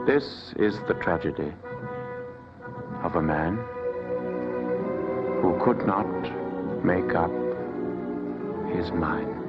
This is the tragedy of a man who could not make up his mind.